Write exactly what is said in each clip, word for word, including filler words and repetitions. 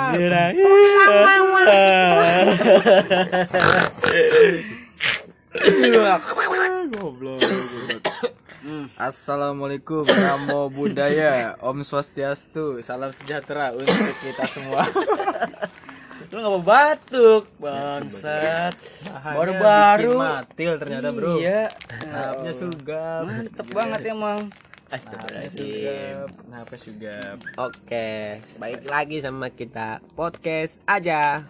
Goblok. Assalamualaikum, namo buddhaya, Om Swastiastu, salam sejahtera untuk kita semua. Lu nggak mau batuk, bangsat. Baru-baru matil ternyata bro. Iya. Napnya sugap. Mantep banget emang. Astagfirullahaladzim. Napnya sugap. Oke, balik lagi sama kita podcast aja.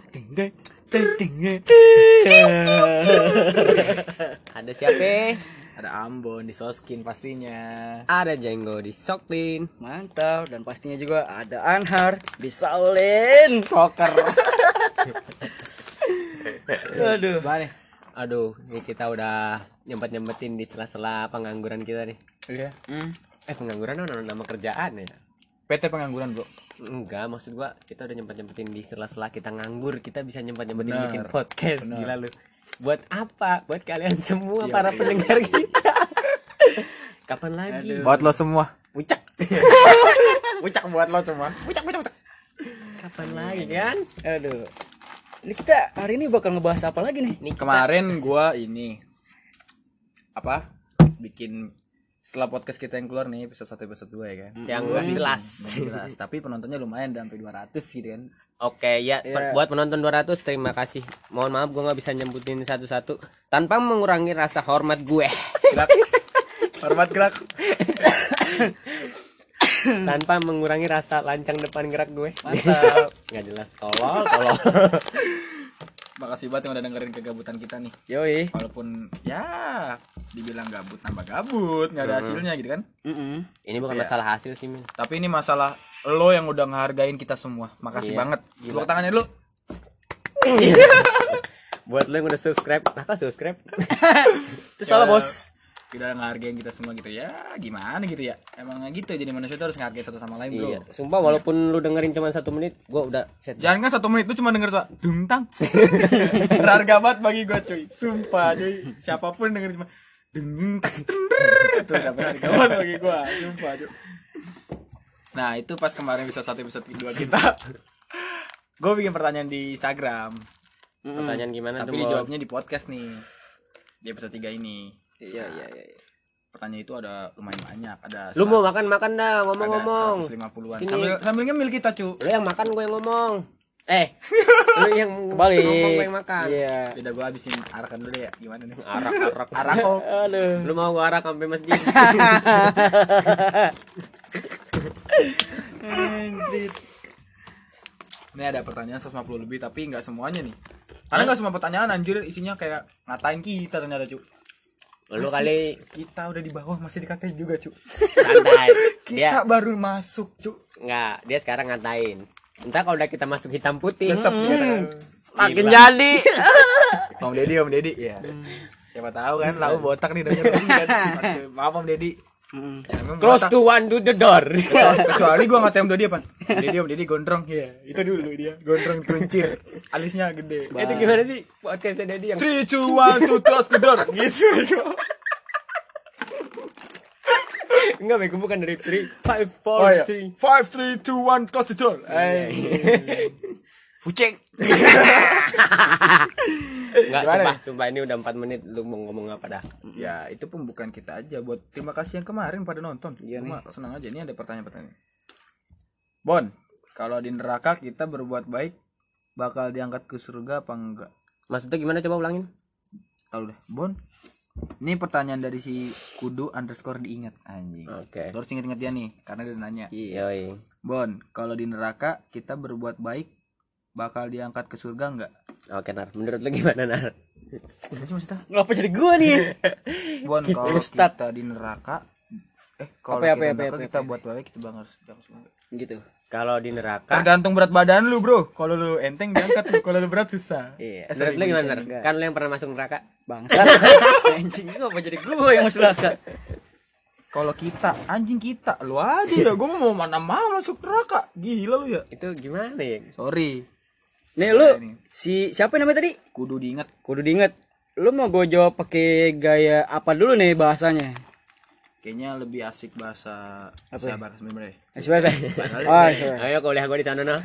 Ada siapa? Ada Ambon di Soskin pastinya. Ada Jenggo di Soklin. Mantap, dan pastinya juga ada Anhar di Saulin Soccer. Aduh, Mana? Aduh, ini kita udah nyempet-nyempetin di sela-sela pengangguran kita nih. Iya. hmm. Eh, pengangguran nama, nama kerjaan ya? P T pengangguran bro. Enggak, maksud gua kita udah nyempet-nyempetin di sela-sela kita nganggur, kita bisa nyempet-nyempetin Bener. bikin podcast. Bener. Gila lu. Buat apa? Buat kalian semua Iya, para iya. pendengar kita. Kapan lagi? Aduh. Buat lo semua. Pucak. Pucak buat lo semua. Pucak, pucak, pucak. Kapan lagi kan? Aduh. Ini kita hari ini bakal ngebahas apa lagi nih? Nih kita- Kemarin gua ini apa? Bikin setelah podcast kita yang keluar nih episode satu episode dua ya kan. yang Gua nggak bikin- jelas. nggak jelas, tapi penontonnya lumayan sampai dua ratus gitu kan. Oke ya, Iya. per- buat penonton dua ratus terima kasih. Mohon maaf gue nggak bisa nyebutin satu-satu tanpa mengurangi rasa hormat gue. Gerak. Hormat gerak. Tanpa mengurangi rasa lancang depan gerak gue. Mantap. Nggak jelas, tolol, tolol. Makasih banget yang udah dengerin kegabutan kita nih. Yoi. Walaupun ya dibilang gabut nambah gabut, nggak ada hasilnya gitu kan. Mm-mm. Ini bukan Iya. masalah hasil sih, Min. Tapi ini masalah lo yang udah ngehargain kita semua. Makasih Iya. banget. Gila. Tepuk tangannya dulu. Buat lo yang udah subscribe, apa subscribe? Itu salah Ya, bos. Kita ngehargain kita semua gitu ya. Gimana gitu ya? Emang gitu, jadi manusia tuh harus ngehargain satu sama lain, bro. Iya. Sumpah walaupun lu dengerin cuma satu menit, gue udah set. Jangan kan satu menit itu cuma denger suara dungtang. Berharga banget bagi gua cuy. Sumpah cuy. Siapapun denger cuma dungtang. Itu udah berharga banget bagi gua. Sumpah cuy. Nah itu pas kemarin episode satu episode kedua kita. Gue bikin pertanyaan di Instagram. Pertanyaan gimana Tapi tuh? Bon? dijawabnya di podcast nih. Di episode tiga ini. Iya iya iya. Pertanyaan itu ada lumayan banyak. Ada Lu mau makan-makan dah, ngomong-ngomong. seratus lima puluhan. Sini. Sambil, sambil ngemil kita cuy. Lu yang makan, gue yang ngomong. Eh, lu yang Kembali. ngomong, gue yang makan. Iya. Beda gue habisin arakan dulu deh ya. Gimana nih? Arak-arak. Arak kok. Aduh. Lu mau gua arak sampai masjid? Anjir. Ini ada pertanyaan seratus lima puluh lebih tapi nggak semuanya nih. Karena nggak semua pertanyaan anjir isinya kayak ngatain kita ternyata cu. Lu Masih- kali kita udah di bawah masih dikatain juga cu. santai. Kita Dia baru masuk cu. enggak, dia sekarang ngatain. Entar kalau udah kita masuk hitam putih, Tetap hmm, kita makin Gila. jadi. Om Deddy Om Deddy ya. Siapa tahu kan lau botak nih denger kan. Maaf Om Deddy. Mm. Ya, memang Close botak. to one to the door. Kecuali, kecuali gua ngatain Om Deddy apa? Om Deddy Om Deddy gondrong. Iya, itu dulu dia. Gondrong kuncir. Alisnya gede. Itu gimana sih podcastnya Dedi yang three two one two close the door gitu. enggak bego, bukan dari three five Oh four iya. three. five three two one close the door. Eh. Fuceng. Enggak, Gimana sumpah, sumpah ini udah empat menit lu mau ngomong apa dah? Ya, itu pun bukan kita aja. Buat terima kasih yang kemarin pada nonton. Iya Cuma senang aja ini ada pertanyaan-pertanyaan. Bon, kalau di neraka kita berbuat baik bakal diangkat ke surga apa enggak? Maksudnya gimana, coba ulangin? Tahu deh, Bon. Ini pertanyaan dari si Kudu underscore diingat anjing. Oke. Lo harus inget-inget dia nih karena dia nanya. Iya. Bon, kalau di neraka kita berbuat baik bakal diangkat ke surga enggak? Oke, Nar. Menurut lu gimana, Nar? Ngapa jadi gua nih? Bon, kalau Ustad. kita di neraka eh kalau Apa ya, kita apa ya, di neraka apa ya, kita apa ya? buat baik kita bakal diangkat ke surga. Gitu. Kalau di neraka, Tergantung berat badan lu, Bro. Kalau lu enteng diangkat lu, kalau lu berat susah. iya. Eh, sorry, Menurut lu gimana, bisa Nar? nih. Kan lu yang pernah masuk neraka. Bangsat. Anjing, ngapa jadi gua yang masuk neraka? Kalau kita, anjing kita, lu aja dah. Gua mau mana mau masuk neraka. Gila lu ya. Itu gimana ya? Sorry. Nih lu si siapa namanya tadi? Kudu diingat. Kudu diinget. Lu mau gue jawab pakai gaya apa dulu nih bahasanya? Kayaknya lebih asik bahasa apa bahasa sebenarnya. S B B. Oh, Ayo kuliah gua di sana noh.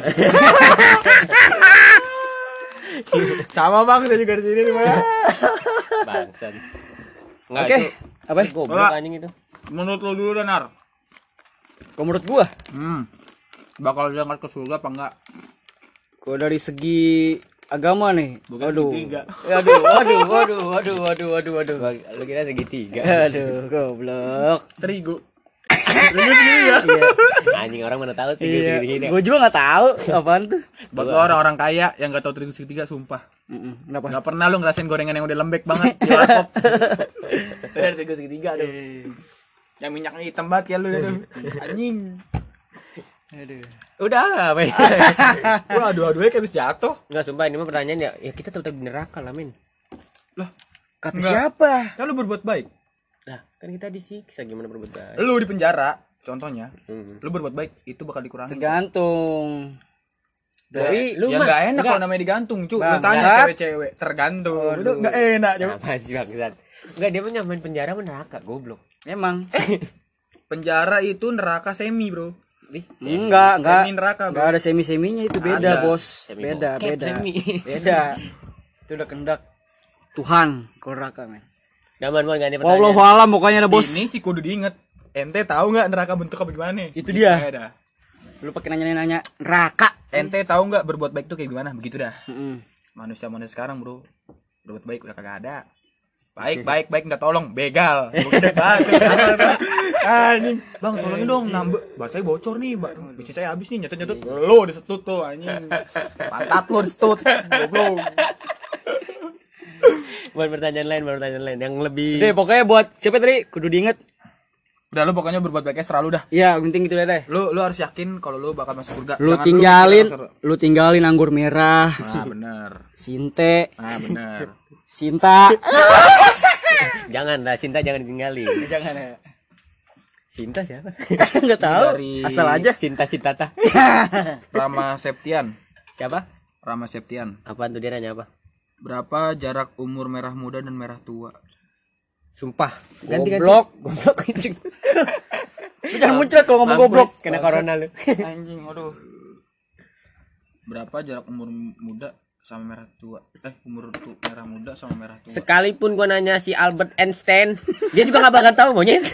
Sama Bang, saya juga di sini gimana? Bangsan. Oke, apa? Goblok anjing itu. Menurut lo dulu dan Nar. Kalau menurut gua, Hmm. Bakal diangkat ke surga apa enggak? kalau dari segi agama nih, Bukan waduh. segitiga. Waduh, waduh, waduh, waduh, waduh, waduh, waduh. Lu kira segitiga. Aduh, goblok. Terigu. Terigu segitiga. Anjing orang mana tahu tiga Iya, segitiga. gua juga nggak tahu apaan tuh. Buat lo orang-orang kaya yang enggak tahu terigu segitiga sumpah. Mm-mm, Kenapa? Enggak pernah lu ngerasain gorengan yang udah lembek banget di warkop. Dari terigu segitiga tuh. Yang minyaknya hitam banget ya lu tuh. Anjing. Aduh. Udah apa ya? Wah, aduh-aduhnya kayak habis jatuh. Enggak sumpah ini mah pertanyaan ya. Ya kita tetap di neraka lah, men. Lah, Kata Enggak. siapa? kan lu berbuat baik. Nah, kan kita disiksa gimana berbuat baik. Lu di penjara, contohnya. Hmm. Lu berbuat baik, itu bakal dikurangi. Tergantung. Dari Lu ya mah enggak enak enggak. kalau namanya digantung, cu. Lu Bangsat. tanya cewek-cewek, tergantung. Itu enggak enak, cu. Apa sih bangsat? Enggak dia mah nyamain penjara sama neraka, goblok. Emang. Penjara itu neraka semi, Bro. Ih, Enggak, enggak. Semi neraka, Enggak Bro. ada semi-seminya itu beda, Ada. Bos. Semi Beda, bokep, beda. semi. Beda. Itu udah kehendak Tuhan kalau neraka, men. Gaman mau ganti Wallahu pertanyaan. alam pokoknya ada, Bos. Ini sih kudu diinget. Ente tahu nggak neraka bentuk apa gimana? Itu dia. Ya dah. Lu pakai nanya-nanya neraka. Ente tahu nggak berbuat baik tuh kayak gimana? Begitu dah. Heeh. Manusia-manusia sekarang, Bro. Berbuat baik udah kagak ada. Baik, baik, baik minta tolong, begal. Udah banget. Anjing. Bang, tolongin dong nambah. Bacanya bocor nih, Bang. Biji saya habis nih, nyetut-nyetut. Lo disetut tuh anjing. Pantat lo disetut. Goblok. Buat pertanyaan lain, buat pertanyaan lain yang lebih Oke, pokoknya buat siapa tadi kudu diinget. Udah lu pokoknya berbuat baiknya selalu dah. Iya, penting gitu deh. Lu lu harus yakin kalau lu bakal masuk surga. Lu Jangan tinggalin, mikir langsung. lu tinggalin anggur merah, Nah, bener. Sinte, Nah, bener. Sinta. jangan lah, Sinta jangan ditinggalin. Jangan ya. Sinta siapa? Enggak tahu. Dari Asal aja. Sinta Sintata. Rama Septian. Siapa? Rama Septian. Apaan tuh dia nanya apa? Berapa jarak umur merah muda dan merah tua? Sumpah. Goblok. Goblok anjing. Lu jangan muncul kalau ngomong Mampus, goblok. Kena corona lu. Anjing, aduh. Berapa jarak umur muda sama merah tua? Eh, umur tu merah muda sama merah tua. Sekalipun gua nanya si Albert Einstein, dia juga gak bakal tahu monyet.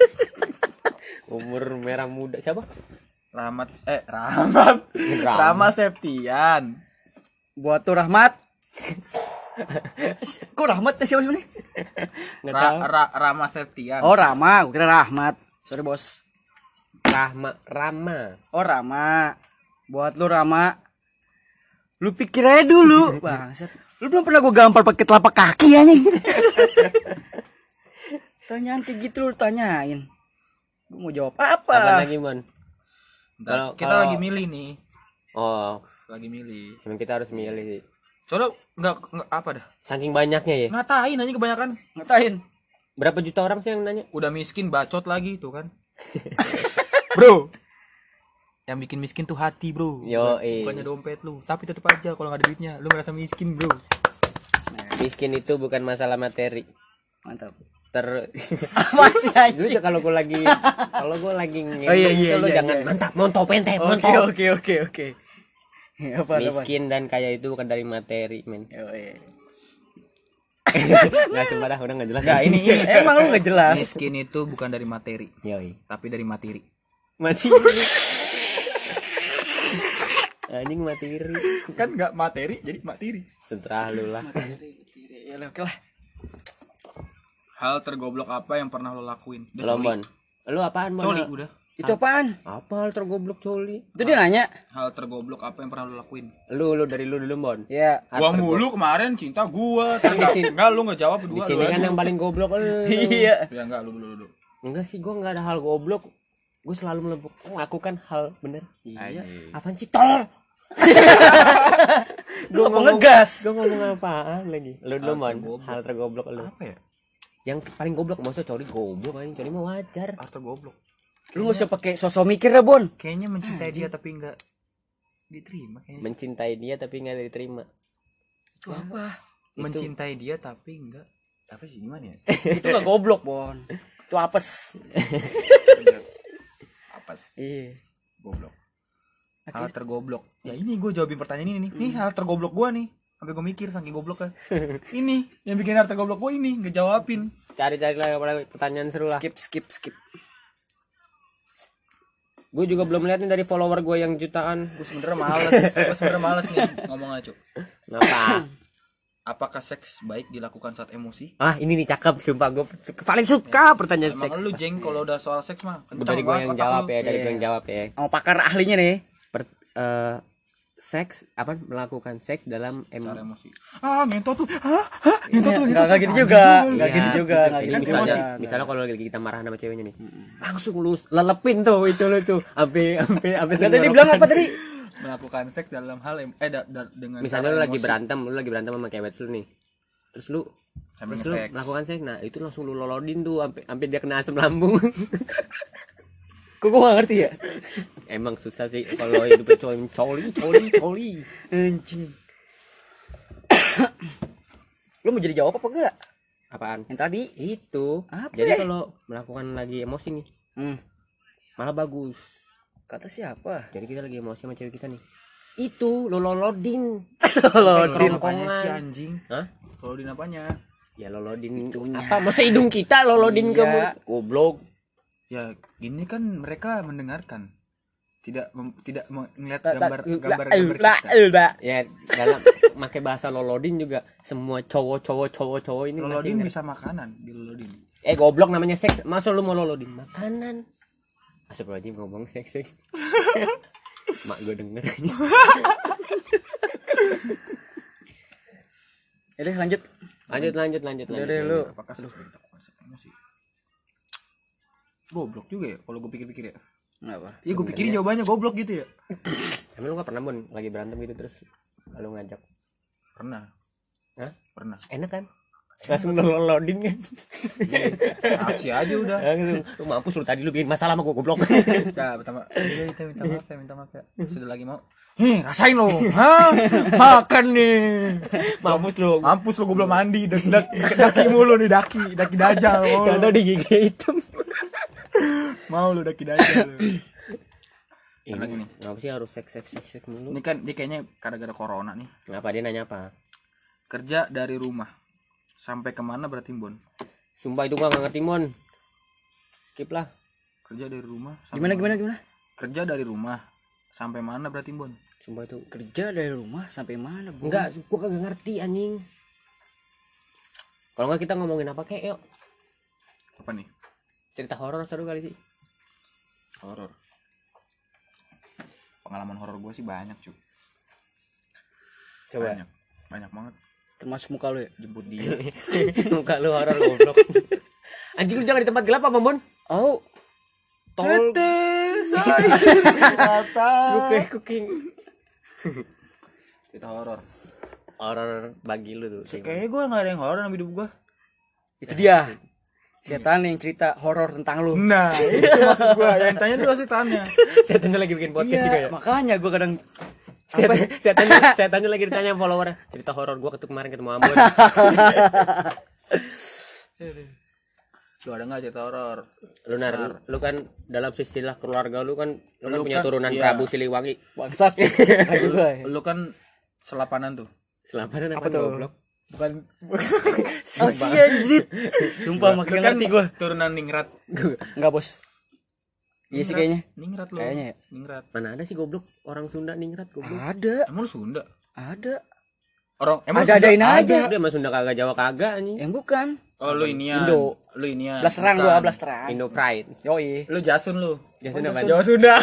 Umur merah muda siapa? Rahmat eh Rahmat. Rahmat. Rama Septian. Buat tuh Rahmat. Kok Rahmat siapa sih ini? Enggak Ra, tahu. Ra, Rama Septian. Oh, Rama, gua kira Rahmat. Sorry, Bos. Rahma Rama. Oh, Rama. Buat lu Rama. Lu pikir aja dulu, bangsat. Lu belum pernah gua gampar pakai telapak kaki anjing. Tanyaan kayak gitu lu tanyain. Gua mau jawab apa? Apa lagi, Mon? Bentar, Kalau kita kalau- lagi milih nih. Oh, Lagi milih. emang kita harus milih sih. Soalnya enggak, enggak apa dah. Saking banyaknya ya. Ngatain aja kebanyakan. Ngatain. Berapa juta orang sih yang nanya? Udah miskin bacot lagi tuh kan. Bro. Yang bikin miskin tuh hati, Bro. Yo, Bukan- eh. Bukannya dompet lu. Tapi tetap aja kalau nggak ada duitnya, lu merasa miskin, Bro. Miskin itu bukan masalah materi. Mantap. Ter Masih Dulu tuh kalau gue lagi kalau gue lagi ngendong Oh, iya, iya, itu lo iya, jangan iya. mantap montop ente Oke, montop. oke, oke, oke. Apa apa? Miskin dan kaya itu bukan dari materi, men. Oh, iya. Enggak sembarang udah enggak jelas. Enggak, ini ini Emang lu gak jelas. miskin itu bukan dari materi, Yoi. tapi dari materi. Mati. Anjing materi. Kan enggak materi, jadi materi. Seterah lu lah. Ya oke lah. Hal tergoblok apa yang pernah lo lakuin? Udah, Lombon. Lu apaan, Mon? Coli, udah. Itu apaan? Apa hal tergoblok coli? Itu dia nanya. Hal tergoblok apa yang pernah lo lakuin? Lu lu dari lu dulu, Bon. Ya. Hal Gua tergoblok. mulu kemarin cinta gua. Kan di sini- Enggak, lu enggak jawab Di berdua. sini lu kan aja. yang paling goblok lu. Iya. Ya enggak, lu dulu dulu. Enggak sih, gua enggak ada hal goblok. Gue selalu melebuk- melakukan hal bener. Iya. Apaan sih, tolol? Gua mau ngegas. Gue ngomong apaan lagi? Lu dulu, Hal Mon. tergoblok. Hal tergoblok lu. Apa ya? Yang paling goblok maksudnya coli goblok anjing, coli mah wajar. Hal tergoblok. Lu gak usah pakai sosok mikir dah, Bon. Kayaknya mencintai dia tapi enggak diterima kayaknya. Mencintai dia tapi nggak diterima. Itu apa? Mencintai dia tapi enggak Apa sih gimana ya? Itu gak goblok, Bon. Itu apes. Apes. Iya. Goblok. Hal tergoblok. Ya ini gue jawabin pertanyaan ini nih. Ini hal tergoblok gue nih. Sampai gue mikir saking goblok kan. Ini yang bikin hal tergoblok gue ini ngejawabin. Cari-cari lagi pertanyaan seru lah. Skip skip skip. Gue juga belum lihat nih dari follower gue yang jutaan. Gue sebenernya males. Gue sebenernya males nih ngomong aja. Ngapa? Apakah seks baik dilakukan saat emosi? Ah ini nih cakep, sumpah gue paling suka pertanyaan Emang seks. lu jeng kalau udah soal seks mah kencang Dari gue banget yang otak jawab lu. ya, dari Iya. gue yang jawab ya. Sama pakar ahlinya nih. Per, eh, seks apa melakukan seks dalam em Soal emosi. Ah, ngentot tuh. Hah? Hah? Ngentot tuh, Enggak ngentot. enggak gitu juga. Enggak Iya, gitu juga, enggak Jadi gitu misalnya, juga. misalnya kalau lagi kita marah sama ceweknya nih, langsung lu lelepin tuh itu lu tuh, sampai sampai sampai Enggak tadi bilang apa tadi? Melakukan seks dalam hal em- eh da, da, dengan Misalnya cara lu lagi emosi. berantem, lu lagi berantem sama cewek lu nih, terus lu Sambil terus lu nge-seks. melakukan seks, nah itu langsung lu lolodin tuh, sampai sampai dia kena asam lambung. Kok gua enggak ngerti ya? Emang susah sih kalau hidup coli coli coli coli. Anjing. Lu mau jadi jawab apa enggak? Apaan? Yang tadi? Itu. Apa Jadi ya? kalau melakukan lagi emosi nih, Hmm. malah bagus. Kata siapa? Jadi kita lagi emosi sama cewek kita nih. Itu lo lolodin. Lolodin apanya sih anjing? Hah? Lolodin apanya? Ya lolodin apa? Masa hidung kita lolodin ke Iya. mulut? Goblok. Ya, ini kan mereka mendengarkan. Tidak mem- tidak melihat Tak- gambar tak- gambar lah, gambar lah, kita. lah. Ya dalam pakai bahasa lolodin juga semua cowok-cowok cowok-cowok ini masih Lolodin ngerti. bisa makanan, di lolodin. Eh goblok namanya seks. Masa lu mau lolodin makanan? Astagfirullahaladzim ngomong seks seks. Mak gue denger. Ya udah lanjut. Lanjut lanjut lanjut Udah lanjut. deh, lu. Apakah seks baik dilakukan saat emosi? Goblok juga ya kalau gue pikir-pikir ya. Kenapa? Iya gue pikirin jawabannya goblok gitu ya. Emang lu gak pernah Bon lagi berantem gitu terus lu ngajak? Pernah. Hah? Pernah. Enak kan? Langsung lu lolodin kan? Kasih aja udah. Langsung, lu mampus lu tadi lu bikin masalah sama gua goblok. Ya, pertama, iya, kita minta maaf ya, minta maaf ya. Sudah lagi mau. Heh, rasain lo. Hah? Makan nih. Mampus lu. Mampus lo, gue belum mandi. Dak, dak, daki mulu nih, daki. Daki dajal. Mau Gak lu. tau di gigi hitam. Mau lu daki dajal lu. Ini Lagi nih. kenapa sih harus seks seks seks seks mulu? Ini kan dia kayaknya gara-gara corona nih. Kenapa dia nanya apa? Kerja dari rumah. Sampai kemana berarti Bon? Sumpah itu gua gak ngerti Mon. Skip lah. Kerja dari rumah. sampai Gimana mana? gimana gimana? Kerja dari rumah. Sampai mana berarti Bon? Sumpah itu. Kerja dari rumah sampai mana, Bu? Enggak, gua kagak ngerti anjing. Kalau enggak kita ngomongin apa kayak yuk. Apa nih? Cerita horor seru kali sih. Horor. Pengalaman horor gue sih banyak cuy. Coba. Banyak. Banyak banget. Termasuk muka lu ya? Jemput dia. Muka lu horor goblok. Anjing lu jangan di tempat gelap apa Mon? Oh. Tol. Kata. Lu kayak cooking. Cerita horor. Horor bagi lu tuh. Kayaknya gue gak ada yang horor dalam hidup gue. Itu dia. Setan yang cerita horor tentang lu. Nah, itu maksud gue. Yang tanya tuh setannya. Saya tanya lagi bikin podcast juga ya. Makanya gua kadang Saya, saya tanya, saya tanya lagi ditanya follower cerita horor gua ketemu kemarin ketemu Ambon. Lu ada gak cerita horor? Lu nar, lu kan dalam istilah keluarga lu kan lu, kan Lu punya kan- turunan iya. Prabu Siliwangi. bangsat. Kayak gua. ya. Lu kan selapanan tuh. Selapanan apa, Apa tuh? goblok? Bukan. Oh sih anjir. Sumpah makin Lu kan ngerti gua. turunan Ningrat. Enggak, Bos. Iya sih kayaknya. Ningrat lu. Kayaknya ya. Ningrat. Mana ada sih goblok orang Sunda ningrat goblok. Ada, Emang lu Sunda? ada. Orang emang lu Ada-adain Sunda? aja. Dia mah Sunda kagak Jawa kagak anjing. Yang bukan. Oh lu inian. Indo. Lu inian. Belas terang Bukan. gua, belas terang. Indo Pride. Yoi. Lu Jasun lu. Jasun Oh, apa? Jasun. Jawa Sunda.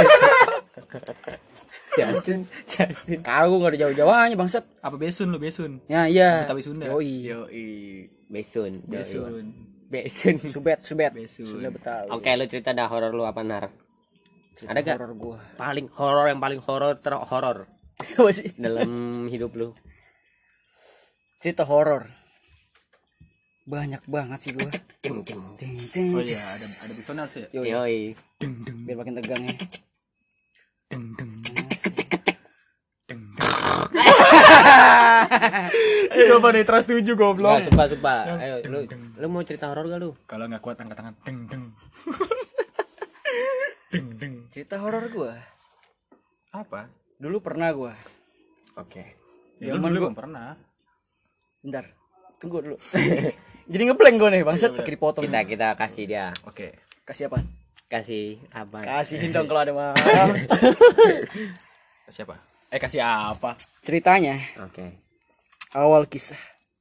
Jasun. Jasun. Kau enggak ada jauh-jauhnya bangsat. Apa Besun lu Besun? Ya iya. Betawi Sunda. Yoi. Yoi. Besun. Besun. Besun. Subet, subet. Besun. Sudah Betawi. Oke, lu cerita dah horor lu apa nar? Cerita Ada gak? horor gua. Paling horor yang paling horor ter horor Apa sih? dalam hidup lu. Cerita horor. Banyak banget sih gua. Ceng ceng. Ting, ting, Oh iya, ada ada personal sih. ya? Yoi. Yoi. Deng deng Biar makin tegang ya. deng deng deng deng. Itu apa nih trust tujuh goblok. Enggak, sumpah, sumpah. Ayo, lu lu mau cerita horor gak lu? Kalau nggak kuat angkat tangan. Deng deng. Deng deng. Cerita horor gua. Apa? Dulu pernah gua. Oke. Ya, Zaman lu gua- belum pernah. Bentar. Tunggu dulu. Jadi ngeblank gua nih, bangsat pakai dipotong. Kita kita kasih dia. Oke. Kasih apa? Kasih apa? Kasihin dong kalau ada mah. Siapa? Eh kasih apa? Ceritanya Oke. awal kisah.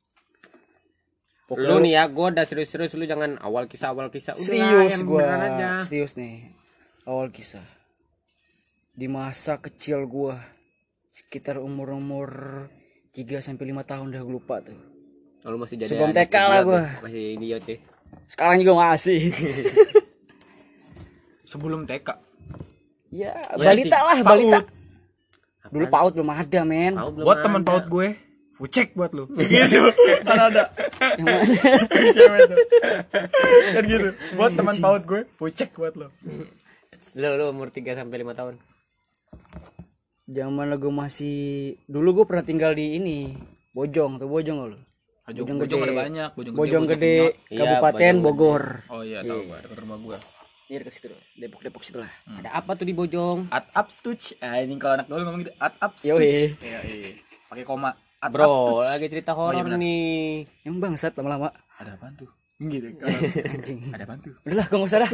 Lu nih ya, gua udah serius-serius, lu jangan awal kisah awal kisah. Udah, Serius yang gua. beneran aja. Serius nih. Awal kisah. Di masa kecil gua sekitar umur-umur tiga sampai lima tahun dah gua lupa tuh. Oh, lu masih jadi Sebelum anak T K lah idiot gua. ya? Masih idiot ya. Sekarang juga masih. Sebelum T K. Ya, Ya, balita sih. lah, Paut. balita. Dulu paut belum ada, men. Tahu belum Buat ada. teman paut gue. Ucek buat lu. Gitu. Kan ada. Yang mana? Cewek tuh. Kan gitu. Buat teman paut gue. Ucek buat lu. Lu lu umur tiga sampai lima tahun. Zaman gua masih dulu gua pernah tinggal di ini, Bojong, tuh Bojong lo. Bojong, Bojong bojong gede. ada banyak. Bojong, Bojong bojong gede, penyot. Iya, Kabupaten Bojong Bogor. Oh iya tahu gua dekat rumah gua. Ini dekat situ, Depok-Depok situ lah. Ada apa tuh di Bojong? At up stuch. Ah ini kalau anak dulu ngomong gitu. At up Yoi. stuch. Iya iya. Pakai koma. At up Bro, tuch. lagi cerita Oh, iya horor benar. nih. Yang bangsat lama-lama. Ada apaan tuh? Gitu. Kalau Anjing. ada apaan tuh? Udahlah, gua enggak usah dah.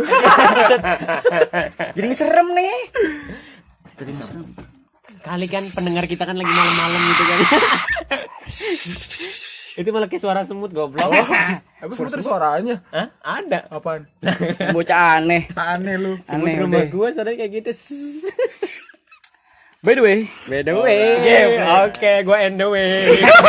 Jadi ngeserem nih. Jadi ngeserem. Kali kan pendengar kita kan lagi malam-malam gitu kan. Itu malah kayak suara semut goblok. Aku sebut suaranya. Hah? Ada. Apaan? Bocah aneh. Aneh lu. Semut Aneh rumah udah. gua suaranya kayak gitu. By the way, By the way. Oke, gua end the way.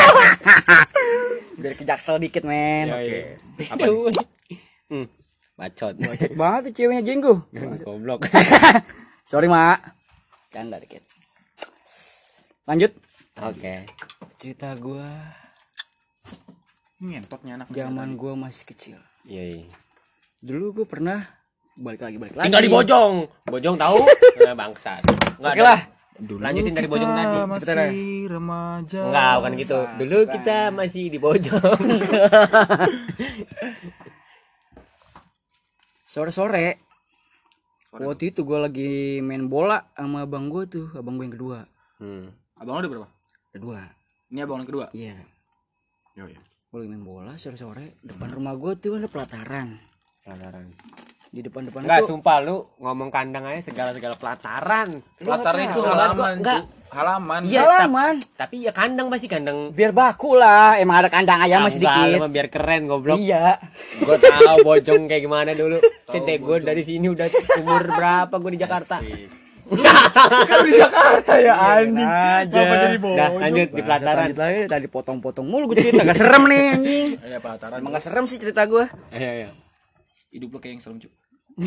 biar ke Jaksel dikit, men. Oke. Apa nih? Hmm. Bacot. Banget tuh ceweknya jenggo. Goblok. Sorry, Mak. Canda dikit. Lanjut. Oke. Cerita gua Ngentotnya anak zaman gua masih kecil. Iya, iya. Dulu gua pernah balik lagi balik lagi. Tinggal di Bojong. Bojong tahu? Nah, bangsat. Enggak Oke lah. Dulu Lanjutin dari Bojong tadi. masih remaja. Enggak, bukan gitu. Dulu kita masih di Bojong. Sore-sore waktu itu gue lagi main bola sama abang gue tuh, abang gue yang kedua. Hmm. Abang lu ada berapa? Kedua. Ini abang yang kedua. Iya. Yo ya. Gue lagi main bola sore-sore, depan rumah gue tuh ada pelataran. Pelataran. Di depan-depan Enggak, itu sumpah lu ngomong kandang aja segala-segala pelataran. Pelataran itu tahu. halaman, Enggak. Cuk. Halaman. Iya, halaman. Tapi ya kandang pasti kandang. Biar baku lah, emang ada kandang ayam masih Enggak, sedikit. lu mah biar keren goblok. Iya. Gue tahu Bojong kayak gimana dulu. Cinta gue dari sini udah umur berapa gue di Jakarta. Kan di Jakarta ya anjing. aja. Kenapa jadi Dah, bojong? lanjut di pelataran. Lanjut lagi, tadi potong-potong mulu gue cerita, gak serem nih anjing. Iya pelataran. Emang gak serem sih cerita gue. Ayo, ayo. Hidup lo kayak yang serem, Cuk.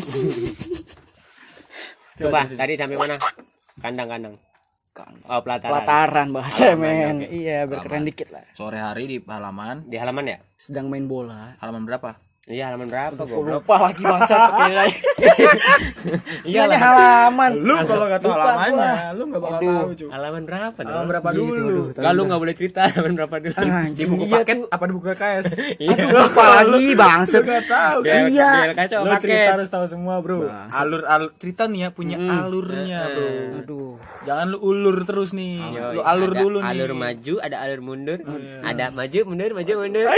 Coba tadi sampai mana? Kandang-kandang. Oh, pelataran. Pelataran bahasa Halaman, men. oke. Iya, biar keren dikit lah. Sore hari di halaman. Di halaman ya? Sedang main bola. Halaman berapa? Iya, halaman berapa Gue goblok? lupa lagi bangsa pakai lagi. Iya, Ini halaman, halaman. Lu kalau nggak tahu Lupa halamannya, gua. lu nggak bakal Aduh. tahu, Cuk. halaman berapa dong? Halaman berapa Gitu, dulu? aduh. Enggak, lu enggak boleh cerita halaman berapa dulu. Di Anjing, buku iya paket tuh. apa di buku K K S? Iya. Lupa lagi bangset. Lu nggak tahu. Biar, Iya. biar kacau Lu paket. cerita harus tahu semua, Bro. Alur alur cerita nih ya punya alurnya, Bro. Aduh. Jangan lu ulur terus nih. Yoi, Lu alur ada dulu nih. Alur maju, ada alur mundur. Ada maju, mundur, maju, mundur. Ah.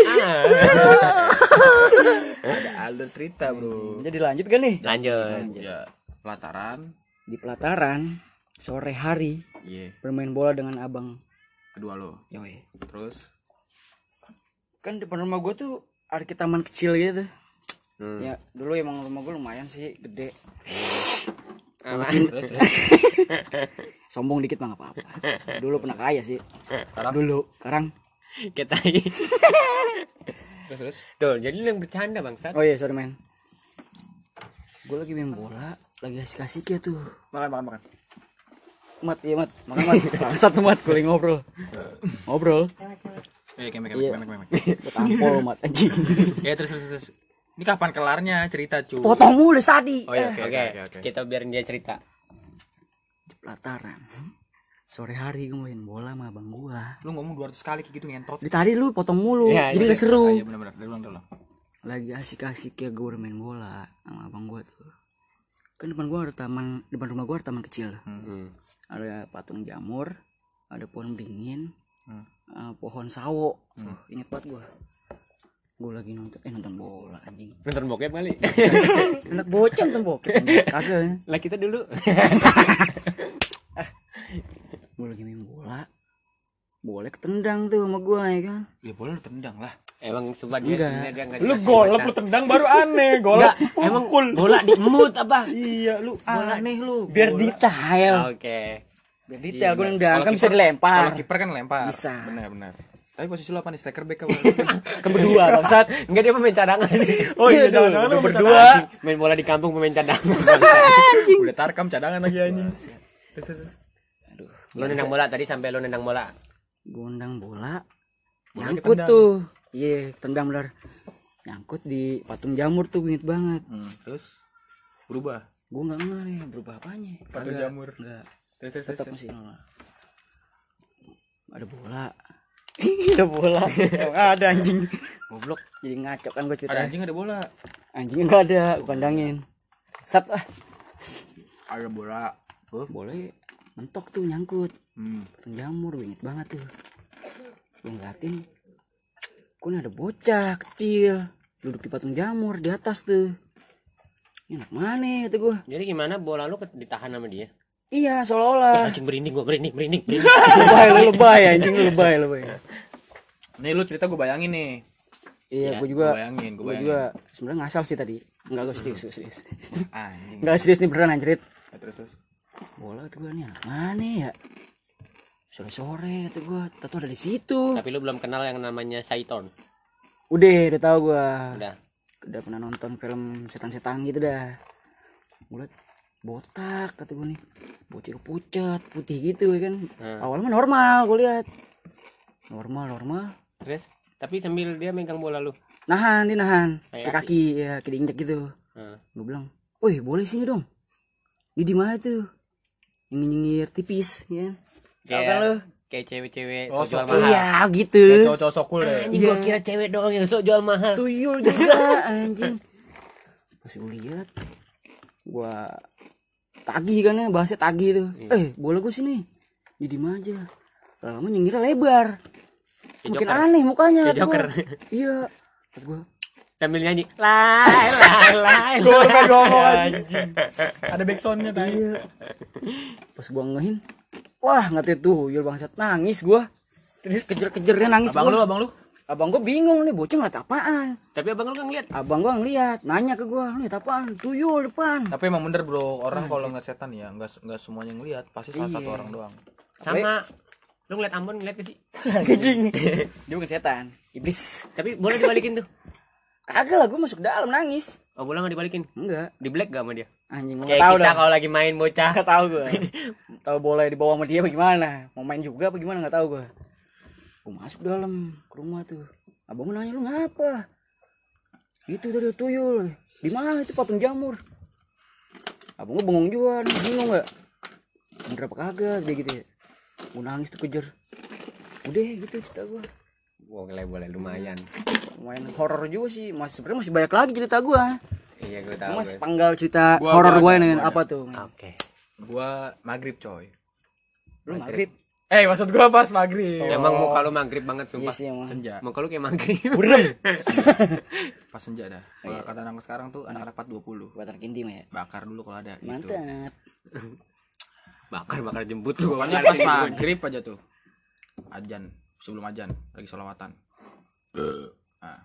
Ada alur cerita, Bro. Jadi lanjut kan nih? Lanjut. Ya, pelataran. Di pelataran sore hari Iya, bermain bola dengan abang. kedua lo. Yoi. Terus Kan depan rumah gue tuh ada ke taman kecil gitu. Hmm. Ya dulu emang rumah gue lumayan sih gede. Apa? terus terus. Sombong dikit mah gak apa-apa. Dulu pernah kaya sih. Sekarang? Dulu. Sekarang. Kita Terus terus. Tuh, jadi lu yang bercanda bangsat. Oh iya sorry men. Gue lagi main bola, lagi asik-asik ya tuh. Makan makan makan. Mat, iya mat, makan mat. Bangsat tuh mat, gue lagi ngobrol. Ngobrol. Eh, kemek Iya. kemek kemek kemek. Gue tampol mat anjing. Ya terus terus terus. Ini kapan kelarnya cerita, Cu? Potong mulu tadi. Oh iya, Oke, oke oke oke. kita biarin dia cerita. Di pelataran. Sore hari gue main bola sama abang gua. Lu ngomong dua ratus kali kayak gitu ngentot. Di tadi lu potong mulu, Ya, jadi iya. gak seru. Ah, iya benar-benar. Dari ulang dulu. Lagi asik-asik ya gue main bola sama abang gua tuh. Kan depan gua ada taman, depan rumah gua ada taman kecil. Hmm. Ada patung jamur, ada pohon beringin, Hmm. uh, pohon sawo. Uh, inget banget gua. Gua lagi nonton, eh nonton bola anjing. Nonton bokep kali. Anak bocah nonton bokep. Kagak. Lah kita dulu. Gua lagi main bola. Boleh ketendang tuh sama gua ya kan. Ya boleh lu tendang lah. Emang sumpah dia Enggak. sebenarnya dia enggak. Lu golep lu tendang baru aneh. Golep emang pukul. bola di mood apa? Iya lu aneh lu. Biar detail. Oke. Biar detail gua Iya, nendang kalau kan bisa kiper- dilempar. Kalau kiper kan lempar. Bisa. Benar-benar. Tapi posisi lu apa nih? Striker back apa? Kan berdua bangsat. Enggak dia pemain cadangan. Oh iya, Iya, jangan-jangan lu udah berdua. berdua. Main bola di kampung pemain cadangan. Udah tarkam cadangan lagi anjing. Terus terus. Aduh, Lu nendang bola tadi sampai lu nendang bola. gua nendang bola. Bola Nyangkut ketendang. tuh. Iya, tendang bener. Nyangkut di patung jamur tuh inget banget. Hmm, terus berubah. Gua enggak ngerti berubah apanya. Patung Kagak, jamur. Enggak. Terus terus Tetap terus. masih nol. Ada bola. Ada bola. Ada anjing. Goblok. Jadi ngaco kan gua cerita. Ada anjing ada bola. Anjingnya enggak ada, gua kandangin. Sat ah. Ada bola. Oh, boleh mentok tuh nyangkut. Hmm. Patung jamur gua inget banget tuh. Gua ngeliatin. Kok ini ada bocah kecil duduk di patung jamur di atas tuh. Ini anak mana kata gua. Jadi gimana bola lu ket- ditahan sama dia? Iya seolah-olah. Anjing merinding gua, merinding, merinding, merinding. Lebay lu lebay anjing lu lebay lebay. Nih lu cerita gue bayangin nih. Iya, Ya, gua juga. Gua bayangin, gua Gua bayangin. juga sebenarnya ngasal sih tadi. Enggak gua serius, gua serius. Anjing. Enggak serius nih beneran anjrit. Ya, terus terus. Bola tuh gua nih anak mana ya? Sore-sore kata gua, tahu ada di situ. Tapi lu belum kenal yang namanya Saiton. Udah, udah tahu gua. Udah. Udah pernah nonton film setan-setan gitu dah. Gua liat botak kata gua nih. Bocah pucat, putih gitu ya kan. Hmm. Awalnya mah normal gua lihat. Normal, normal. Terus tapi sambil dia megang bola lu. Nahan, dia nahan. Kayak Ke kaki ya, kayak diinjak gitu. Heeh. Gua bilang, "Woi, boleh sini dong." Ini di mana tuh? Nyengir-nyengir tipis ya. Tahu kan lu? Kayak cewek-cewek Oh, sok jual sok- mahal. Iya, gitu. Kayak cowok-cowok sokul deh. Anjing gua kira cewek doang yang sok jual mahal. Tuyul juga anjing. Pas gue lihat gua tagih kan ya, bahasnya tagih tuh. Eh, bola gua sini. Di diem aja. Lama nyengirnya lebar. Kayak Makin Joker. aneh mukanya Kayak kata gua. Joker. Iya. Kata gua, Sambil nyanyi. Lai lai lai. Gue baru pengen ngomong anjing. Ada backsoundnya tadi. iya. Pas gua ngehin, wah ngerti tuh, yul bangsat nangis gua. Terus kejer-kejernya nangis Abang gua. lu, abang lu. Abang gua bingung nih, bocah ngeliat apaan. Tapi abang lu kan ngeliat. Abang gua ngeliat, nanya ke gua, "Lu liat apaan?" Tuyul depan. Tapi emang bener bro, orang kalau ngeliat setan ya nggak nggak semuanya ngeliat, pasti salah satu Iya. orang doang. Sama lu ngeliat Ambon ngeliat gak sih? Anjing. Dia bukan setan, iblis. Tapi boleh dibalikin tuh. Kagak lah, gua masuk dalam nangis. Oh bola gak dibalikin. Enggak, Di black gak sama dia? anjing gua Kayak nggak tahu kita dah. kalau lagi main bocah. Nggak tahu gua. Tahu bola di bawah sama dia bagaimana? Mau main juga apa gimana nggak tahu gua. Gua masuk dalam ke rumah tuh. Abang gua nanya, "Lu ngapa?" "Itu tadi tuyul." "Di mana itu patung jamur?" Abang gua bengong juga, nih, bingung enggak? Bener apa kagak dia gitu ya. Gua nangis tuh kejer. Udah gitu cerita gua. Boleh boleh lumayan. Lumayan horor juga sih. Masih sebenarnya masih banyak lagi cerita gua. Iya gue tahu. Cuma gue. sepenggal cerita Gua- horor gua gua ada, nih gua ada. apa tuh? Oke. Gua maghrib coy. Lu maghrib. Eh maksud gua pas maghrib. Emang muka lu maghrib banget Iya sumpah. sih emang. Senja. Muka lu kayak maghrib. Burem. Pas senja dah. Kalau kata anak sekarang tuh anak-anak empat dua puluh. Buat anak intim ya. Bakar dulu kalau ada. Gitu. Mantap. Bakar bakar jembut lu. Pokoknya pas maghrib aja tuh. Ajan, sebelum ajan lagi sholawatan. Nah.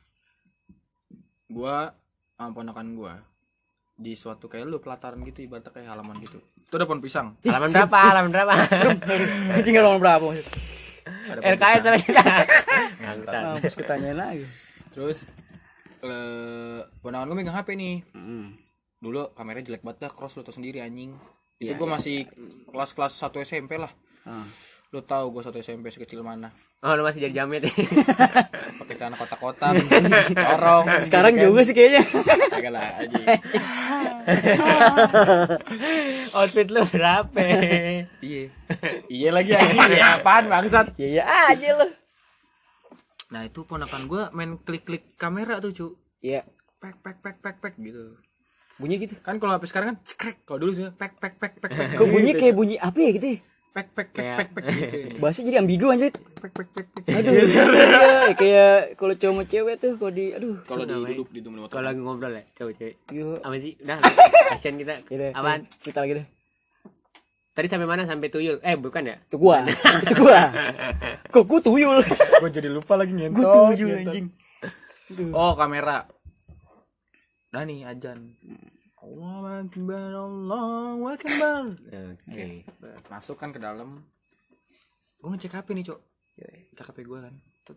Gua sama ponakan gua di suatu kayak lu pelataran gitu, ibaratnya kayak halaman gitu. Itu ada pohon pisang. Halaman berapa? Halaman berapa? Anjing kalau berapa maksud? Ada pohon L K S pisang. sama kita. Bangsat. Mampus ketanyain lagi. Terus eh ponakan gua megang H P nih. Heeh. Dulu kameranya jelek banget dah, cross lu tau sendiri anjing. Itu Iya, gua masih kelas-kelas satu S M P lah. Heeh. Lu tahu gua satu S M P sekecil mana. Oh lu masih jadi jamet. Pakai celana kotak-kotak, corong. Sekarang juga sih kayaknya. Kagak lah aja. Outfit lu berapa? Iya. Iya lagi anjing. Ya apaan bangsat? Iya iya aja lo. Nah, itu ponakan gua main klik-klik kamera tuh, Cu. Iya. Pek pek pek pek pek gitu. Bunyi gitu. Kan kalau H P sekarang kan cekrek. Kalau dulu sih pek pek pek pek pek. Kok bunyi kayak bunyi apa ya gitu ya? pek pek pek pek pek gitu. Bahasa jadi ambigu anjir. Pek pek pek pek. Aduh. Iya, kayak kalau cowok sama cewek tuh kalau di aduh. Kalau di duduk di motor. Kalau lagi ngobrol ya, cewek-cewek. Yo. Apa sih? Udah, kasihan kita. Gitu. Apaan? Cerita lagi deh. Tadi sampai mana? Sampai tuyul. Eh, bukan ya? Itu gua. Itu gua. Kok gua tuyul. Gua jadi lupa lagi ngentot. Gua tuyul anjing. Oh, kamera. Nah nih ajan. Allah akbar, Allah akbar. Oke. Masuk kan ke dalam. Gua ngecek H P nih, Cok. Cek H P gua kan. Tut.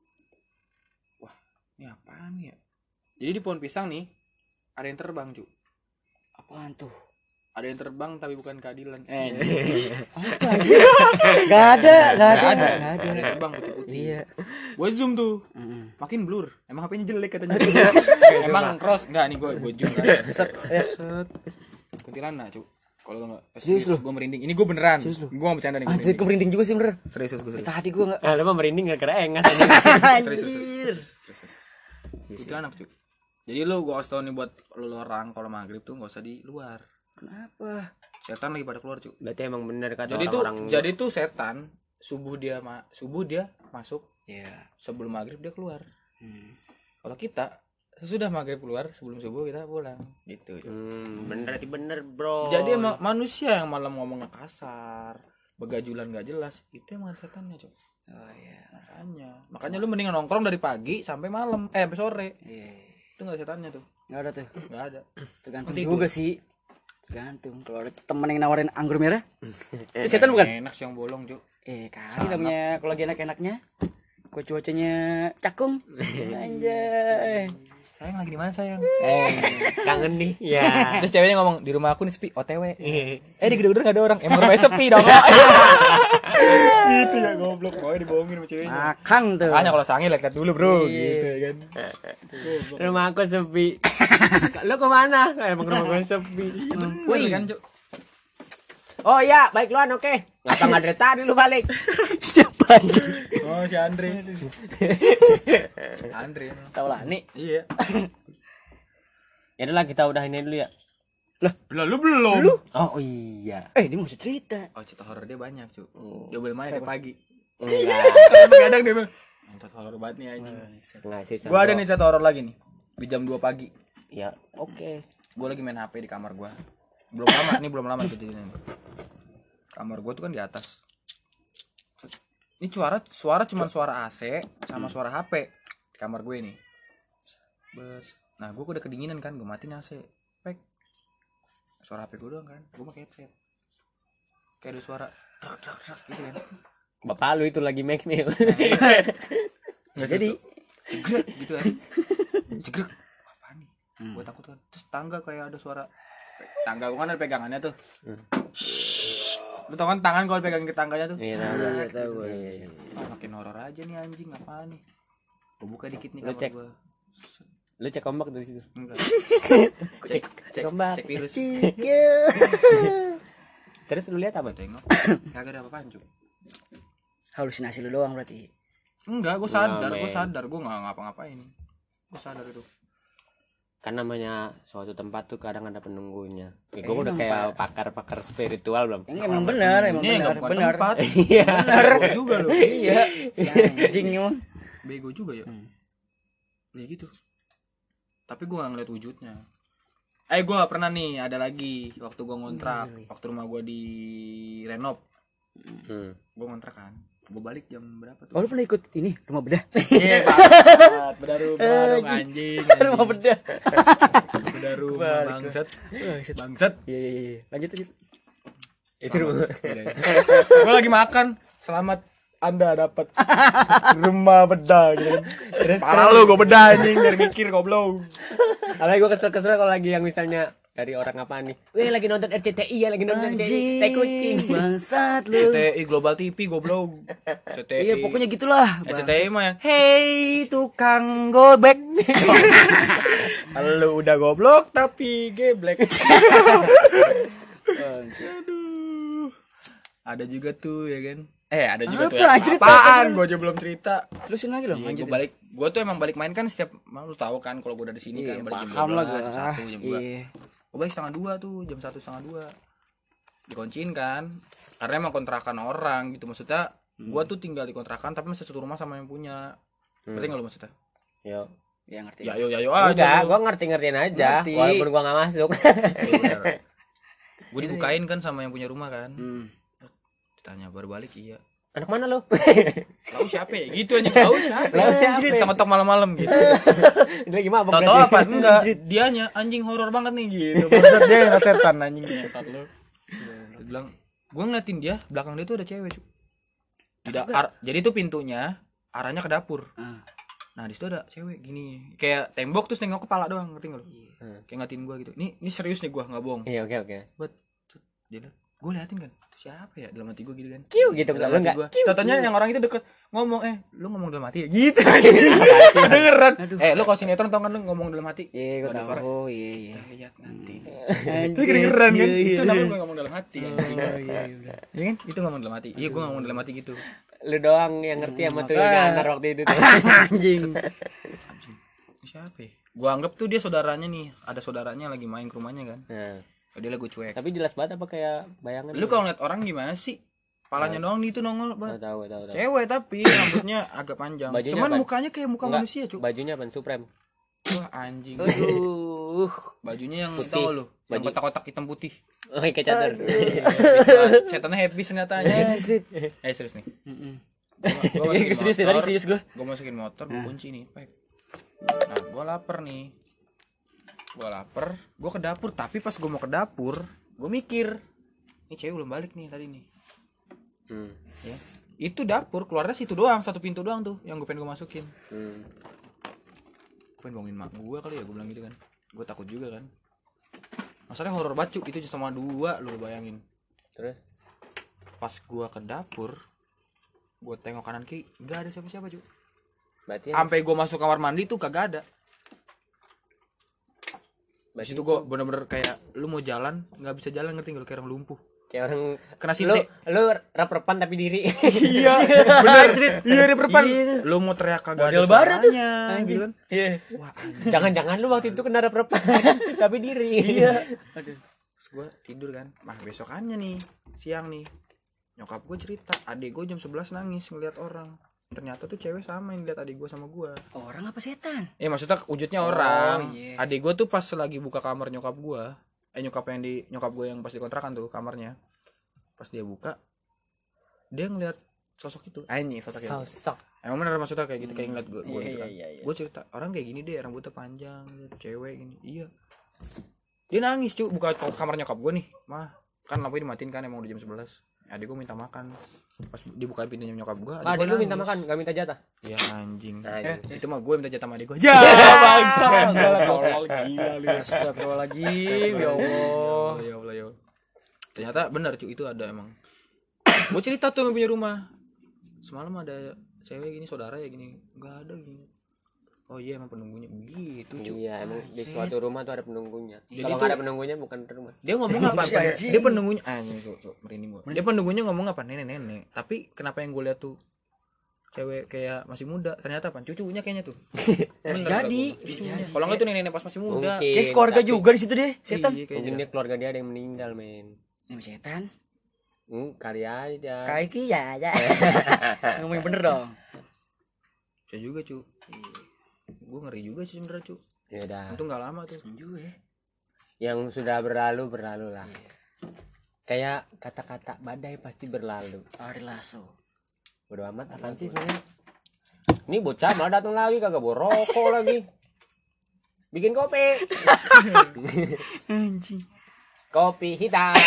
Wah, ini apaan ya? Jadi di pohon pisang nih ada yang terbang, Cuk. Apaan tuh? Ada yang terbang tapi bukan keadilan. Eh, Apa anjir? Gak ada, gak ada. ada. Gak Ada ada. yang terbang putih-putih. Iya. Gua zoom tuh. Mm-mm. Makin blur. Emang H P-nya jelek katanya. Emang cross enggak nih gua gua zoom kan. Set. Set. Kuntilanak, Cuk. Kalau enggak Serius lu? gua merinding. Ini gua beneran. Serius lu? Gua enggak bercanda nih. gua Anjir, gua merinding juga sih bener. Serius, serius, gua serius. Tadi gua enggak. Ah, lu mah merinding enggak kerengan. Serius, serius. Kuntilanak, Cuk. Jadi lu gua kasih tau nih buat lu orang kalau maghrib tuh enggak usah di luar. Kenapa? Setan lagi pada keluar, Cuk. Berarti emang bener kata Jadi tuh orang-orang. jadi tuh setan subuh dia ma subuh dia masuk, Iya. sebelum maghrib dia keluar. Hmm. Kalau kita sesudah maghrib keluar, sebelum subuh kita pulang gitu, Cuk. Hmm, bener berarti bener, Bro. Jadi emang manusia yang malam ngomongnya kasar, begajulan gak jelas, itu emang setannya, Cuk. Oh iya. Makanya, makanya lu mendingan nongkrong dari pagi sampai malam, eh sampai sore. Iya. Itu enggak setannya tuh. Enggak ada tuh. Enggak ada. Tergantung Tidur. juga sih. Tergantung. Kalau ada temen yang nawarin anggur merah, itu setan bukan? Enak sih yang bolong, Cuk. Eh kali namanya kalau lagi enak-enaknya. Kok cuacanya cakung. Anjay. Sayang lagi di mana, sayang? Eh, kangen nih. Ya. Terus ceweknya ngomong, di rumah aku nih sepi, O T W. Eh, Eh di gedung-gedung gak ada orang. Emang rumahnya sepi dong. Gitu ya goblok. Pokoknya dibohongin sama ceweknya. Makan tuh. Makanya kalau sange lihat dulu, Bro. Iya. Gitu ya kan. rumah aku sepi. Lu kemana? Emang rumah gue sepi. Wih kan, Cuk. Oh iya, baik luan, oke. Ngapa nggak dari tadi lu balik? Siapa anjing? Oh, si Andre. Andre. Tahu lah nih. Iya. Ya udah lah, kita udahin ini dulu ya. Lah lu belum. Oh iya. Eh, dia masih cerita. Oh, cerita horor dia banyak, Cuk. Dia boleh main dari pagi. Enggak. Kadang dia bilang, "Nonton horor banget nih anjing." Enggak sih. Gua ada nih cerita horor lagi nih. Di jam dua pagi. Ya, oke. Gua lagi main H P di kamar gua. Belum lama, nih belum lama kejadiannya. Kamar gua tuh kan di atas. Ini suara suara cuman suara A C sama suara H P di kamar gue nih. Bes. Nah, gua udah kedinginan kan, gua matiin A C. Pek. Suara H P gua doang kan. Gua pakai headset. Kayak ada suara drak drak drak gitu kan. Bapak lu itu lagi make nih. Enggak jadi jegrek gitu kan. Jegrek. Apaan nih? Gua takut kan. Terus tangga kayak ada suara tangga gua kan ada pegangannya tuh. Lu tau kan tangan kalau pegang ke tangganya tuh. Iya, Iya, tahu gue. Ah, makin horor aja nih anjing, apaan nih? Gua buka dikit nih Lu kamar cek. gua. Lu cek ombak dari situ. Enggak. Cek cek Ombak. cek virus. Terus lu lihat apa? Tengok. Kagak ada apa-apaan, Cuk. Halusinasi lu doang berarti. Enggak, gua sadar, Enggak, gua men. sadar, gua enggak ngapa-ngapain. Gua sadar itu. Kan namanya suatu tempat tuh kadang ada penunggunya. Ya, gue udah kayak pakar-pakar spiritual belum? Yang emang benar, emang Ini benar, enggak bukan benar. tempat. Iya. Benar juga loh. Iya. Anjing emang. Bego juga ya. Ya gitu. Tapi gua enggak ngeliat wujudnya. Eh gua gak pernah nih, ada lagi waktu gua ngontrak, waktu rumah gua di renov. Hmm. Gua ngontrak kan. Gua balik jam berapa tuh? Oh, lu pernah ikut ini rumah bedah? Iya, bangsat. Bedah rumah dong anjing. Rumah bedah. Bedah rumah bangsat. Bangsat. Iya, iya, iya. Lanjut lanjut. Itu rumah. Gua lagi makan. Selamat Anda dapat rumah bedah gitu kan. Parah lu gua bedah anjing, biar mikir goblok. Apalagi gue kesel-kesel kalau lagi yang misalnya dari orang apa nih? Weh lagi nonton R C T I ya, lagi nonton R C T I. Anjing, Tai kucing. bangsat C lu. T I Global T V goblok. C T I. Iya pokoknya gitulah. Eh, C T I mah yang hey tukang gobek. Lu udah goblok tapi geblek. Aduh. Ada juga tuh ya kan. Eh ada juga Apa? tuh ya. Cerita, Apaan? Gue aja belum cerita. Terusin lagi dong. Iya, lanjut. gue balik. Gue tuh emang balik main kan setiap malam lu tahu kan kalau gue udah di sini Iya, kan balik jam paham lah dua belas, gua. jam satu, jam dua. Iya. Gue balik setengah dua tuh, jam satu setengah dua. Dikunciin kan. Karena emang kontrakan orang gitu maksudnya. Gue tuh tinggal di kontrakan tapi masih satu rumah sama yang punya. Ngerti nggak lu maksudnya? Yo. Ya ngerti. Ya yo ya yo aja. Udah, lu. gua ngerti-ngertiin aja Ngerti. walaupun gua enggak masuk. Gue dibukain kan sama yang punya rumah kan. Hmm. Ditanya baru balik iya. Anak mana lu? Tahu siapa ya? Gitu aja tahu siapa. Tahu siapa? Tetok malam-malam gitu. Ini lagi mabok. Tahu tahu apa? Enggak. Dianya anjing horor banget nih gitu. Maksud dia nggak setan anjing ngetat lu. Dia bilang, "Gua ngeliatin dia, belakang dia tuh ada cewek, Cuk." Tidak ar- jadi tuh pintunya arahnya ke dapur. Ah. Nah, di situ ada cewek gini. Kayak tembok terus nengok kepala doang, ngerti enggak lu? Hmm. Kayak ngatin gua gitu. Nih, ini serius nih gua, enggak bohong. Iya, oke oke. Buat dia gue liatin kan itu siapa ya dalam hati gue gitu kan Kiu gitu dalam lu hati enggak. gue tatanya yang orang itu deket ngomong eh lu ngomong dalam hati ya gitu kedengeran eh lu kalau sinetron tau kan lu ngomong dalam hati Iya, gue Ada suara. tahu. Oh, iya, iya. Kita lihat nanti itu Anjing. kedengeran kan Iya, iya, itu iya. namanya gue ngomong dalam hati Oh, anjing. iya, iya, iya. Iya kan itu ngomong dalam hati iya gue ngomong dalam hati gitu Lu doang yang ngerti sama tuh Makanya. antar waktu itu tuh. Anjing. siapa ya gue anggap tuh dia saudaranya nih ada saudaranya lagi main ke rumahnya kan Nah, dia lagu cuek tapi jelas banget apa kayak bayangan. lu kalau ngeliat orang gimana sih palanya doang nih itu nongol Enggak banget tahu, tahu, tahu. cewek tapi rambutnya agak panjang Bajunya cuman apa? mukanya kayak muka Enggak, manusia cuy bajunya apa? Supreme. wah anjing Aduh. bajunya yang Putih. tahu lu yang Baju- kotak-kotak hitam putih Oh, kayak cadar. setannya happy senjatanya eh serius nih Heeh. gua, gua Iya, serius deh, tadi serius gua. gua masukin motor gua kunci nih pek nah gua lapar nih gua lapar gua ke dapur tapi pas gua mau ke dapur gua mikir ini cewek belum balik nih tadi nih Hmm. ya itu dapur keluarnya situ doang satu pintu doang tuh yang gue pengen gue masukin Hmm. gue pengen bangunin mak gue kali ya gue bilang gitu kan gue takut juga kan masalahnya horor banget Cuk. Itu cuma dua lu bayangin Terus pas gue ke dapur gue tengok kanan kiri nggak ada siapa-siapa cuy berarti sampai gue masuk kamar mandi tuh kagak ada di berarti situ gue bener-bener kayak lu mau jalan nggak bisa jalan ngerti nggak lu kayak orang lumpuh kayak orang kena lu sinte lu rap-rapan tapi diri. iya bener iya di perpan lu mau teriak kagak ada Model barat tuh. suaranya gitu kan Iya. wah anjing. Jangan-jangan lu waktu itu kena rap-rapan tapi diri. Iya. Aduh. Terus gue tidur kan nah besokannya nih siang nih nyokap gue cerita adik gue jam sebelas nangis ngeliat orang ternyata tuh cewek sama yang lihat adik gue sama gue Orang apa setan? eh maksudnya wujudnya orang iya. adik gue tuh pas lagi buka kamar nyokap gue eh nyokap yang di nyokap gue yang pas dikontrakan tuh kamarnya pas dia buka dia ngeliat sosok itu anjing sosok itu Sosok. emang bener maksudnya kayak gitu kayak ngeliat gue gue Iya, gitu kan iya, iya. gue cerita orang kayak gini deh rambutnya panjang cewek gini iya dia nangis cuy buka kamar nyokap gue nih mah kan lampunya dimatiin kan emang udah jam sebelas adik gue minta makan pas dibuka pintunya nyokap gue Ah, lu minta makan, enggak minta jatah. ya anjing Anjing. eh, itu mah gue minta jatah sama adik gue ya bangsa tolol gila lu Astagfirullahaladzim. Ya Allah. ya Allah ya Allah ternyata benar cuy itu ada emang gue cerita tuh yang punya rumah semalam ada cewek gini saudara ya gini nggak ada gini oh iya emang penunggunya begitu cuy Iya, emang di suatu rumah tuh ada penunggunya. Jadi Kalau tuh- nggak ada penunggunya bukan rumah. dia ngomong apa Si Pak? anjing. Dia penunggunya anjing tuh, tuh merinding gua. Dia penunggunya ngomong apa nenek-nenek. Tapi kenapa yang gue lihat tuh cewek kayak masih muda ternyata apa cucunya kayaknya tuh. Bener jadi. kata gua, cucunya. Kalau enggak tuh nenek-nenek pas masih muda. Mungkin. Kayak keluarga tapi- juga di situ deh, setan. Iya, Mungkin kayaknya. dia keluarga dia ada yang meninggal, men. Ini setan. Hmm, kali aja. Kayak ki ya ya. Ngomong bener dong. Saya juga cu. Gue ngeri juga sih sebenernya cu. Ya udah. Itu nggak lama tuh. Juga ya. Yang sudah berlalu berlalu lah. Kayak kata-kata badai pasti berlalu. Ari lasso. Bodo amat apaan sih sebenarnya? Ini bocah malah datang lagi kagak bawa rokok lagi. Bikin kopi. Anjing. Kopi hitam.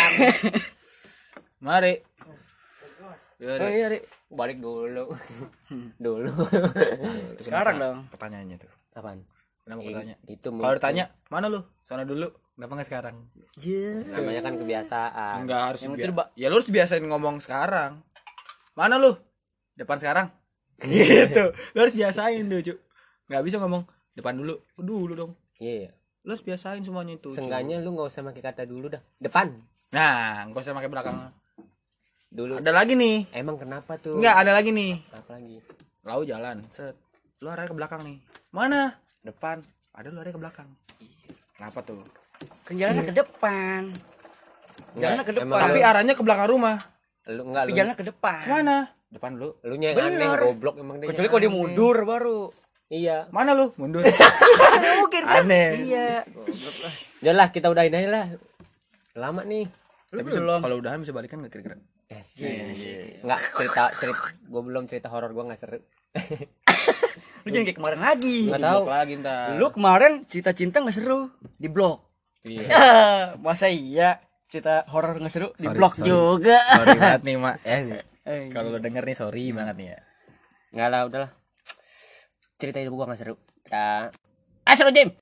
Mari. Ya, Oh iya, Ri. Balik dulu. Dulu. terus Sekarang kenapa? dong. Pertanyaannya tuh. Apaan? Kenapa gue tanya? Itu Kalau ditanya, mana lu? Sana dulu. Kenapa nggak sekarang? Iya. namanya kan kebiasaan. Enggak harus Yang bia- penting, Mbak. Ya lu harus biasain ngomong sekarang. Mana lu? Depan sekarang. Gitu. Lu harus biasain tuh, Cuk. Enggak bisa ngomong depan dulu. Dulu dong. Iya. Lu harus biasain semuanya itu. Cuk. Seenggaknya lu nggak usah pakai kata dulu dah. Depan. Nah, enggak usah pakai belakang. Dulu. Ada lagi nih. Emang kenapa tuh? Enggak, ada lagi nih. Apa lagi? Lau jalan. Set. Lu arahnya ke belakang nih. Mana? Depan. Ada lu arahnya ke belakang. Kenapa tuh? Kan jalannya ke depan. Jalannya ke depan. emang Tapi arahnya ke belakang rumah. Lu enggak Tapi lu. jalannya ke depan. Mana? Depan dulu. Lu nya yang Bener. aneh goblok emang dia. Kecuali yang kalau dia aneh. mundur baru. Iya. Mana lu? Mundur. Nggak mungkin kan? Aneh. Iya. Udah lah kita udahin aja lah. Lama nih. Tapi bisa- kalau udahan bisa balikan enggak kira-kira? Enggak cerita cerita gua belum cerita horor gua enggak seru. Lu jangan kayak kemarin lagi. Enggak tahu. Blok lagi ntar. Lu kemarin cerita cinta nggak seru di blog. Iya. Masa iya cerita horor nggak seru di Sorry, blog sorry. juga. Sorry banget nih, Mak. Eh, Eh, kalau lu denger nih sorry banget nih ya. Enggak lah, udahlah. Cerita itu gua enggak seru. Dah. Ah seru Jim.